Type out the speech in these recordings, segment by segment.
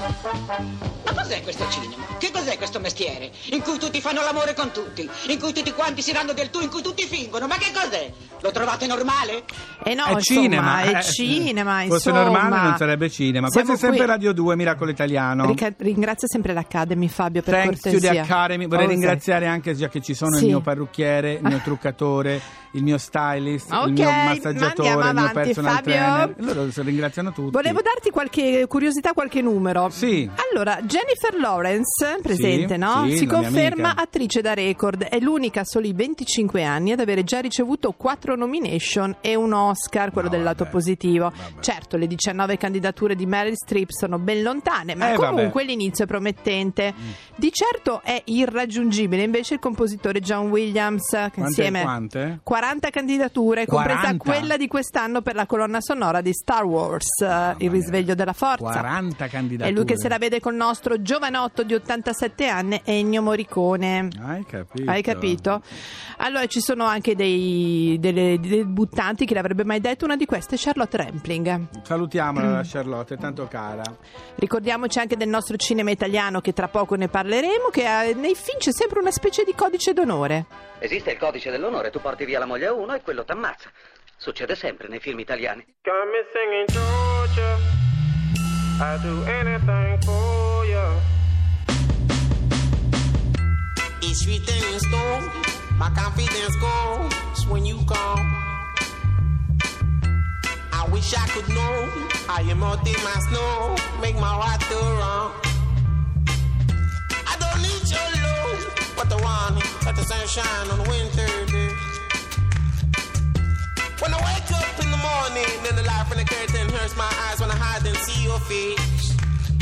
Ma cos'è questo cinema? Che cos'è questo mestiere? In cui tutti fanno l'amore con tutti, in cui tutti quanti si danno del tu, in cui tutti fingono. Ma che cos'è? Lo trovate normale? No, è insomma, cinema, è cinema, fosse insomma. normale non sarebbe cinema. Siamo Questo è sempre qui. Radio 2, Miracolo Italiano. Ringrazio sempre l'Academy, Fabio, per Thanks to cortesia. the Academy. Vorrei ringraziare anche, già che ci sono, Sì. il mio parrucchiere, il mio truccatore, il mio stylist, Ok, il mio massaggiatore, andiamo il mio avanti, personal Fabio. trainer. Loro si ringraziano tutti. Volevo darti qualche curiosità, qualche numero. Sì. Allora, Jennifer Lawrence, presente, Sì, no? sì, Si la mia conferma amica. attrice da record. È l'unica a soli 25 anni ad avere già ricevuto 4 nomination e un Oscar, quello del lato positivo. Certo, le 19 candidature di Meryl Streep sono ben lontane, ma comunque l'inizio è promettente. Di certo è irraggiungibile invece il compositore John Williams, che insieme Quante? 40 candidature, compresa 40? quella di quest'anno per la colonna sonora di Star Wars, Il risveglio della forza. 40 candidature. È lui che se la vede col nostro giovanotto di 87 anni, Ennio Morricone. Hai capito? Hai capito? Allora ci sono anche dei debuttanti, chi l'avrebbe mai detto? Una di queste è Charlotte Rampling. Salutiamola la Charlotte, è tanto cara. Ricordiamoci anche del nostro cinema italiano, che tra poco ne parleremo, che nei film c'è sempre una specie di codice d'onore. Esiste il codice dell'onore, tu porti via la moglie a uno e quello t'ammazza. Succede sempre nei film italiani. Got me singing Georgia, I'd do anything for ya. It's written in stone, my confidence goes when you come. I wish I could know how you melt in my snow, make my heart go wrong. I don't need your love, but the one let the sunshine on a winter day. When I wake up in the morning, then the light from the curtain hurts my eyes when I hide and see your face.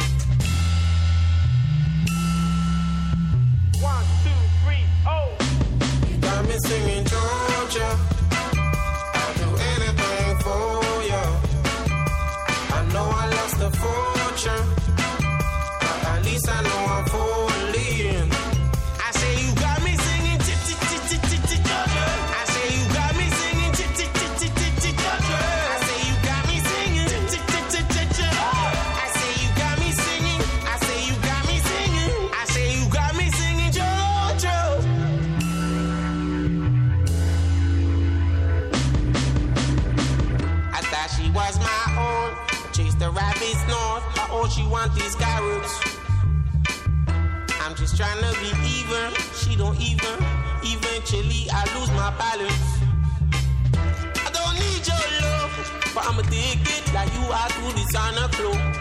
1, 2, 3, oh. You got me singing Georgia, I'll do anything for you. I know I lost a fortune, but at least I know I'm falling. I say you got me singing Georgia. I say you got me singing Georgia. I say you got me singing Georgia. I say you got me singing. I say you got me singing. I say you got me singing Georgia. I thought she was my own. Chase the rabbits north. How old she want these carrots? I'm just trying to be even. She don't even. Eventually I lose my balance. I don't need your love, but I'ma dig it like you are to designer clothes.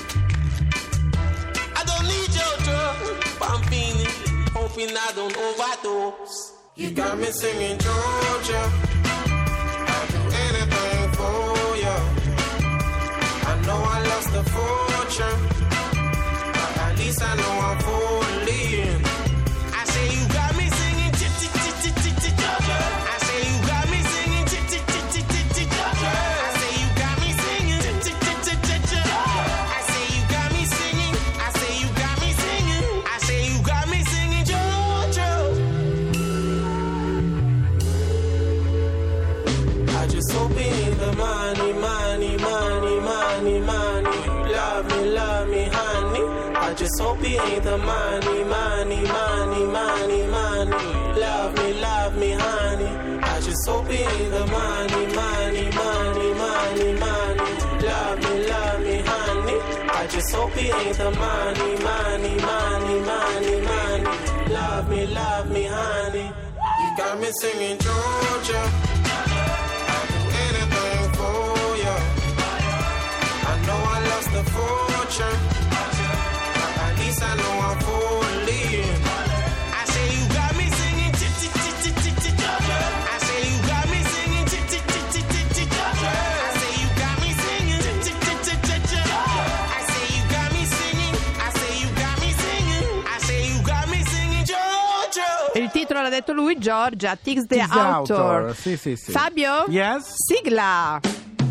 I don't need your drug, but I'm feeling, hoping I don't overdose. You got me singing Georgia, I'll do anything for you. I know I lost a fortune, but at least I know I'm falling. I say you got me singing Georgia. I say you got me singing Georgia. I say you got me singing Georgia. I say you got me singing. I say you got me singing. I say you got me singing Georgia. I just hope it ain't the money, money, money, money, money. You love me, honey. I just hope it ain't the money, money, money, money, money. Love me, honey. I just hope it ain't the money, money, money, money, money. Love me, honey. I just hope it ain't the money, money, money, money, money. Love me, honey. You got me singing Georgia. I'll do anything for you. I know I lost the fortune, but at least I know I'm falling. I say you got me singing Georgia. I say you got me singing Georgia. I say you got me singing Georgia. I say you got me singing. I say you got me singing. I say you got me singing Georgia. Il titolo l'ha detto lui, Giorgia, Tix the Tix the Author. Author, sì. Fabio? Yes? Sigla!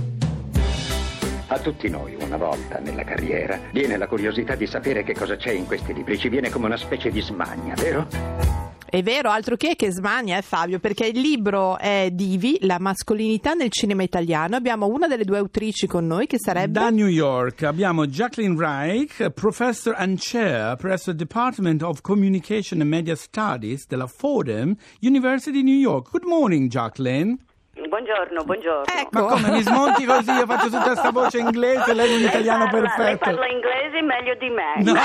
A tutti noi, una volta nella carriera, viene la curiosità di sapere che cosa c'è in questi libri. Ci viene come una specie di smania, vero? È vero, altro che smania, Fabio, perché il libro è Divi, la mascolinità nel cinema italiano. Abbiamo una delle due autrici con noi, che sarebbe... Da New York abbiamo Jacqueline Reich, Professor and Chair presso il Department of Communication and Media Studies della Fordham University New York. Good morning, Jacqueline. Buongiorno. Ecco. Ma come mi smonti così? Io faccio tutta sta voce inglese, lei un italiano perfetto. Lei parla inglese meglio di me. No.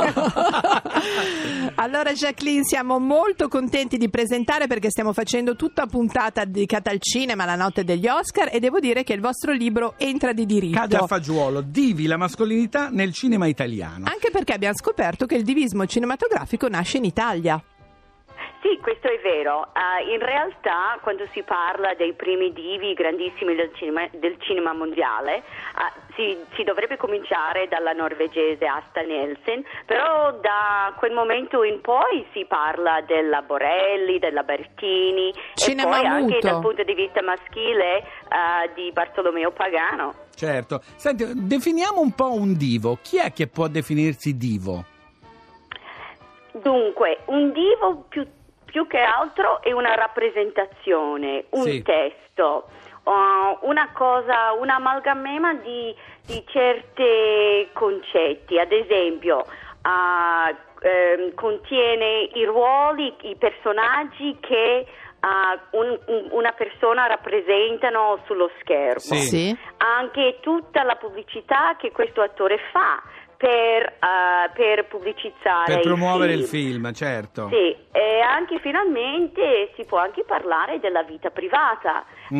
Allora, Jacqueline, siamo molto contenti di presentare, perché stiamo facendo tutta puntata dedicata al cinema, la notte degli Oscar, e devo dire che il vostro libro entra di diritto. Cade a fagiolo, Divi, la mascolinità nel cinema italiano. Anche perché abbiamo scoperto che il divismo cinematografico nasce in Italia. Sì, questo è vero. In realtà, quando si parla dei primi divi grandissimi del cinema mondiale, si dovrebbe cominciare dalla norvegese Asta Nielsen, però da quel momento in poi si parla della Borelli, della Bertini, Cinema e poi anche muto. dal punto di vista maschile di Bartolomeo Pagano. Certo. Senti, definiamo un po' un divo. Chi è che può definirsi divo? Dunque, un divo più che altro è una rappresentazione, un testo, una cosa, un amalgama di certi concetti. Ad esempio, contiene i ruoli, i personaggi che una persona rappresentano sullo schermo. Sì. Anche tutta la pubblicità che questo attore fa per pubblicizzare, per promuovere il film, certo. Sì, e anche finalmente si può anche parlare della vita privata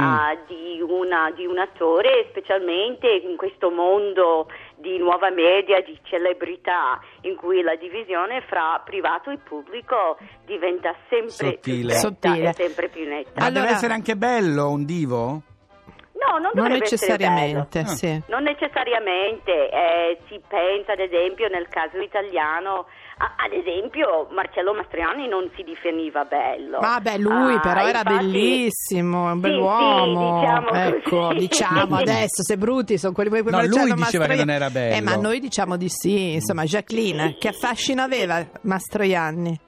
di un attore, specialmente in questo mondo di nuova media, di celebrità, in cui la divisione fra privato e pubblico diventa sempre più sottile e sempre più netta. Ma deve essere anche bello un divo? No, non necessariamente, essere bello. Non necessariamente, si pensa ad esempio nel caso italiano, ad esempio Marcello Mastroianni non si definiva bello. Vabbè, lui però era bellissimo, un bell'uomo. Sì, diciamo adesso, se brutti sono quelli che lui diceva che non era bello. Ma noi diciamo di sì, insomma. Jacqueline, che affascino aveva Mastroianni?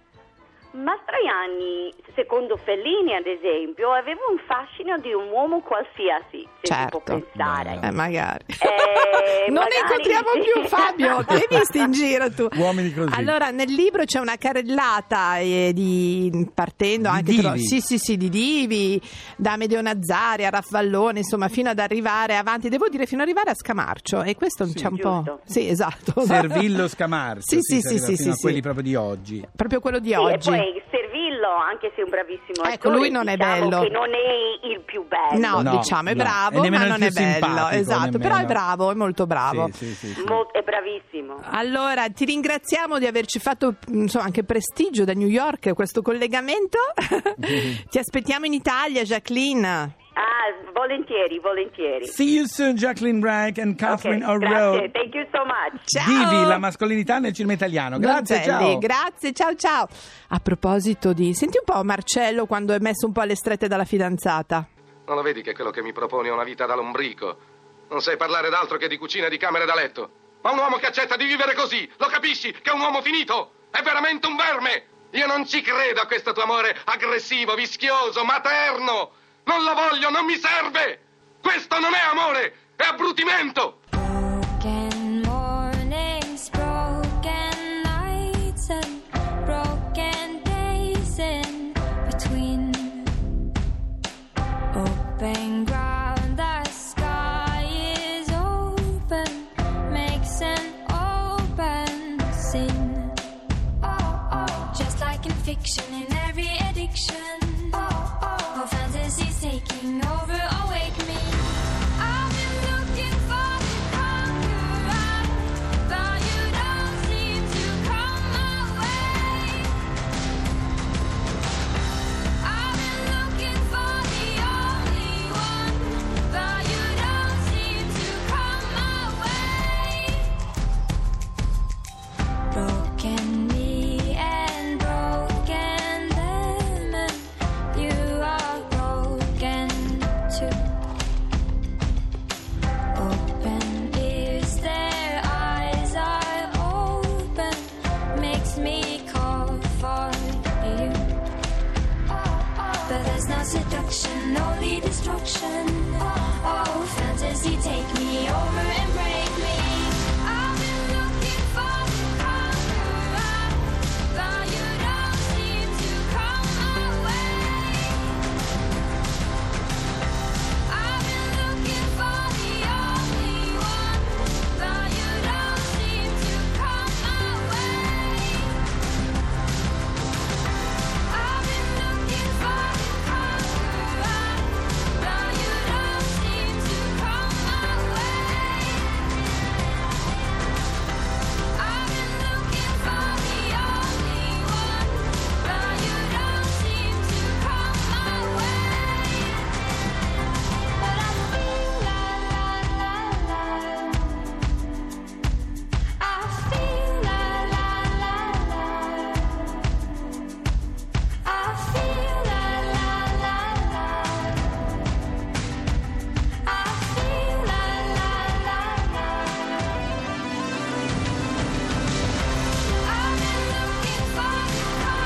Mastroianni, secondo Fellini ad esempio, aveva un fascino di un uomo qualsiasi, se si può pensare. Magari. Non magari ne incontriamo più, Fabio, ti hai visto in giro tu? Uomini così. Allora, nel libro c'è una carrellata partendo anche di divi, da Amedeo Nazzari a Raffallone, insomma, fino ad arrivare avanti, devo dire, fino ad arrivare a Scamarcio, e questo c'è un po'. Sì, esatto. Servillo, Scamarcio. Sì, quelli proprio di oggi. Proprio quello di sì, oggi. E poi Servillo, anche se è un bravissimo attore, lui non è bello, che non è il più bello. No, diciamo è bravo, ma non è bello, esatto, però è bravo, è molto bravo. Sì. È bravissimo. Allora, ti ringraziamo di averci fatto anche prestigio da New York questo collegamento. Ti aspettiamo in Italia, Jacqueline. Volentieri. See you soon, Jacqueline Reich and Catherine O'Rourke. Grazie, thank you so much. Ciao. Divi, la mascolinità nel cinema italiano. Grazie, ciao. Grazie, ciao. A proposito senti un po' Marcello quando è messo un po' alle strette dalla fidanzata. Non lo vedi che quello che mi proponi è una vita da lombrico? Non sai parlare d'altro che di cucina e di camere da letto. Ma un uomo che accetta di vivere così, lo capisci che è un uomo finito? È veramente un verme! Io non ci credo a questo tuo amore aggressivo, vischioso, materno! Non lo voglio, non mi serve! Questo non è amore, è abbrutimento! Broken mornings, broken nights, and broken days in between. Open ground, the sky is open, makes an open scene. Just like in fiction, in every addiction. Taking over, awake me. I've been looking for the conqueror, but you don't seem to come my way. I've been looking for the only one, but you don't seem to come my way. ocean. Oh, fantasy, take me over and break me. I've been looking for the conqueror, but you don't seem to come my way. I've been looking for the only one, but you don't seem to come my way. I've been looking for the conqueror, but you don't seem to come my way. I've been looking for the only one, but you don't seem to come my way. But I feel la la la la. I feel la la la la. I feel la la la la. I feel la la la la. I've been looking for the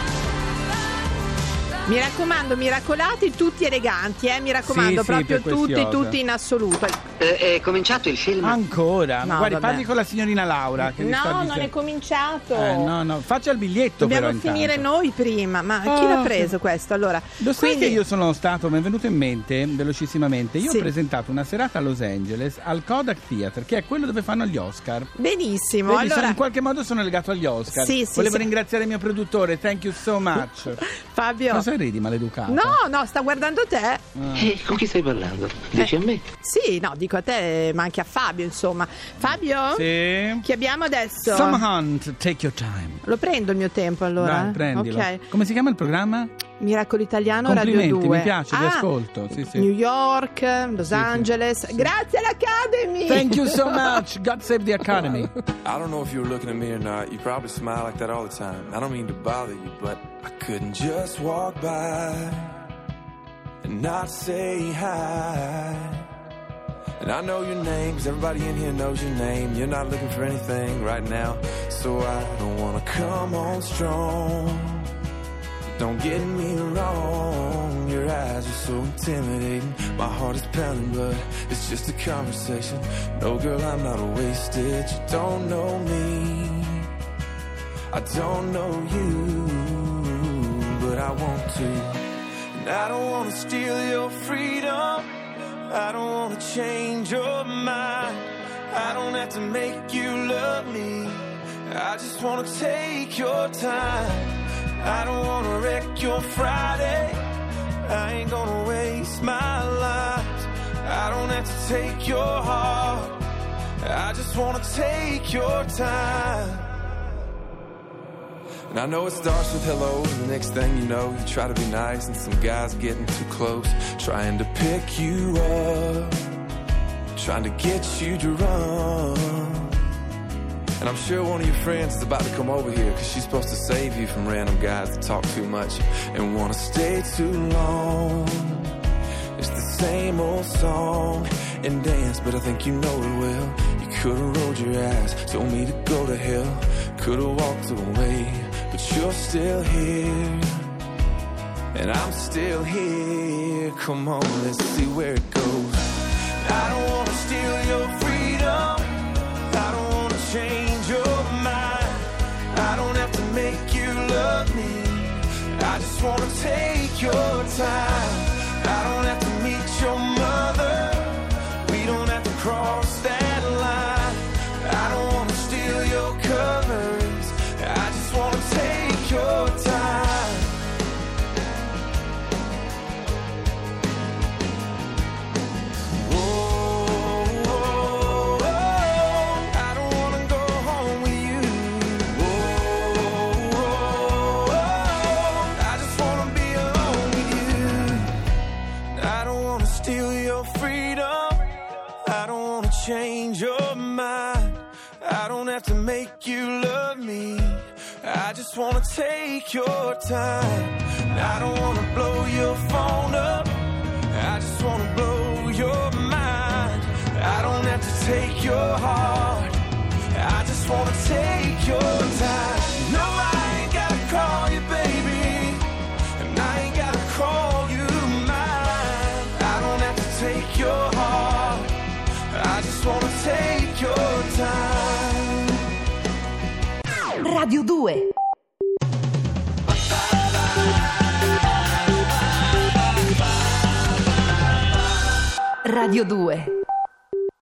conqueror. Mi raccomando, miracolati, tutti eleganti, mi raccomando, Sì, proprio per questi tutti, Oscar. tutti in assoluto. È cominciato il film? Ancora? No, Guardi, vabbè. parli con la signorina Laura che mi sta No, non dicendo. è cominciato. No, faccia il biglietto. Dobbiamo però finire intanto. noi prima. Ma chi l'ha preso questo? Allora, Lo sai quindi- che io sono stato, mi è venuto in mente velocissimamente, io Sì. ho presentato una serata a Los Angeles al Kodak Theater, che è quello dove fanno gli Oscar. Benissimo. Vedi, Allora, in qualche modo sono legato agli Oscar. Sì, sì, Volevo sì. ringraziare il mio produttore, thank you so much. Fabio. Cosa ridi, maleducato? No, sta guardando te. Con chi stai parlando? Dici a me? Sì, no, dico a te, ma anche a Fabio, insomma. Fabio? Sì. Chi abbiamo adesso? Some Hunt, take your time. Lo prendo il mio tempo allora? Dai, prendilo. Ok. Come si chiama il programma? Miracolo Italiano Radio Complimenti, 2. mi piace, vi ascolto. Sì, sì. New York, Los Angeles. Grazie all'Academy. Thank you so much. God save the Academy. I don't know if you were looking at me or not. You probably smile like that all the time. I don't mean to bother you, but I couldn't just walk by and not say hi. And I know your name, 'cause everybody in here knows your name. You're not looking for anything right now, so I don't wanna come on strong. Don't get me wrong, your eyes are so intimidating. My heart is pounding, but it's just a conversation. No, girl, I'm not wasted. You don't know me, I don't know you, but I want to. And I don't want to steal your freedom, I don't want to change your mind. I don't have to make you love me, I just want to take your time. I don't wanna wreck your Friday, I ain't gonna waste my life. I don't have to take your heart, I just wanna take your time. And I know it starts with hello, and the next thing you know, you try to be nice, and some guy's getting too close, trying to pick you up, trying to get you to run. And I'm sure one of your friends is about to come over here, 'cause she's supposed to save you from random guys that talk too much and wanna stay too long. It's the same old song and dance, but I think you know it well. You could've rolled your eyes, told me to go to hell, could've walked away, but you're still here, and I'm still here. Come on, let's see where it goes. I don't wanna steal your freedom, I don't wanna change your mind, I don't have to make you love me, I just wanna take your time. I don't have to meet your mother, we don't have to cross that line. I don't wanna steal your covers, I just wanna take your time. Oh, oh, oh, I don't wanna go home with you. Oh, oh, oh, I just wanna be alone with you. I don't wanna steal your freedom, I don't wanna change your mind, I don't have to make you love me, I just wanna take your time. I don't wanna blow your phone up, I just wanna blow your mind. I don't have to take your heart, I just wanna take your time. No, I ain't gotta call you baby, and I ain't gotta call you mine. I don't have to take Radio 2. Radio 2.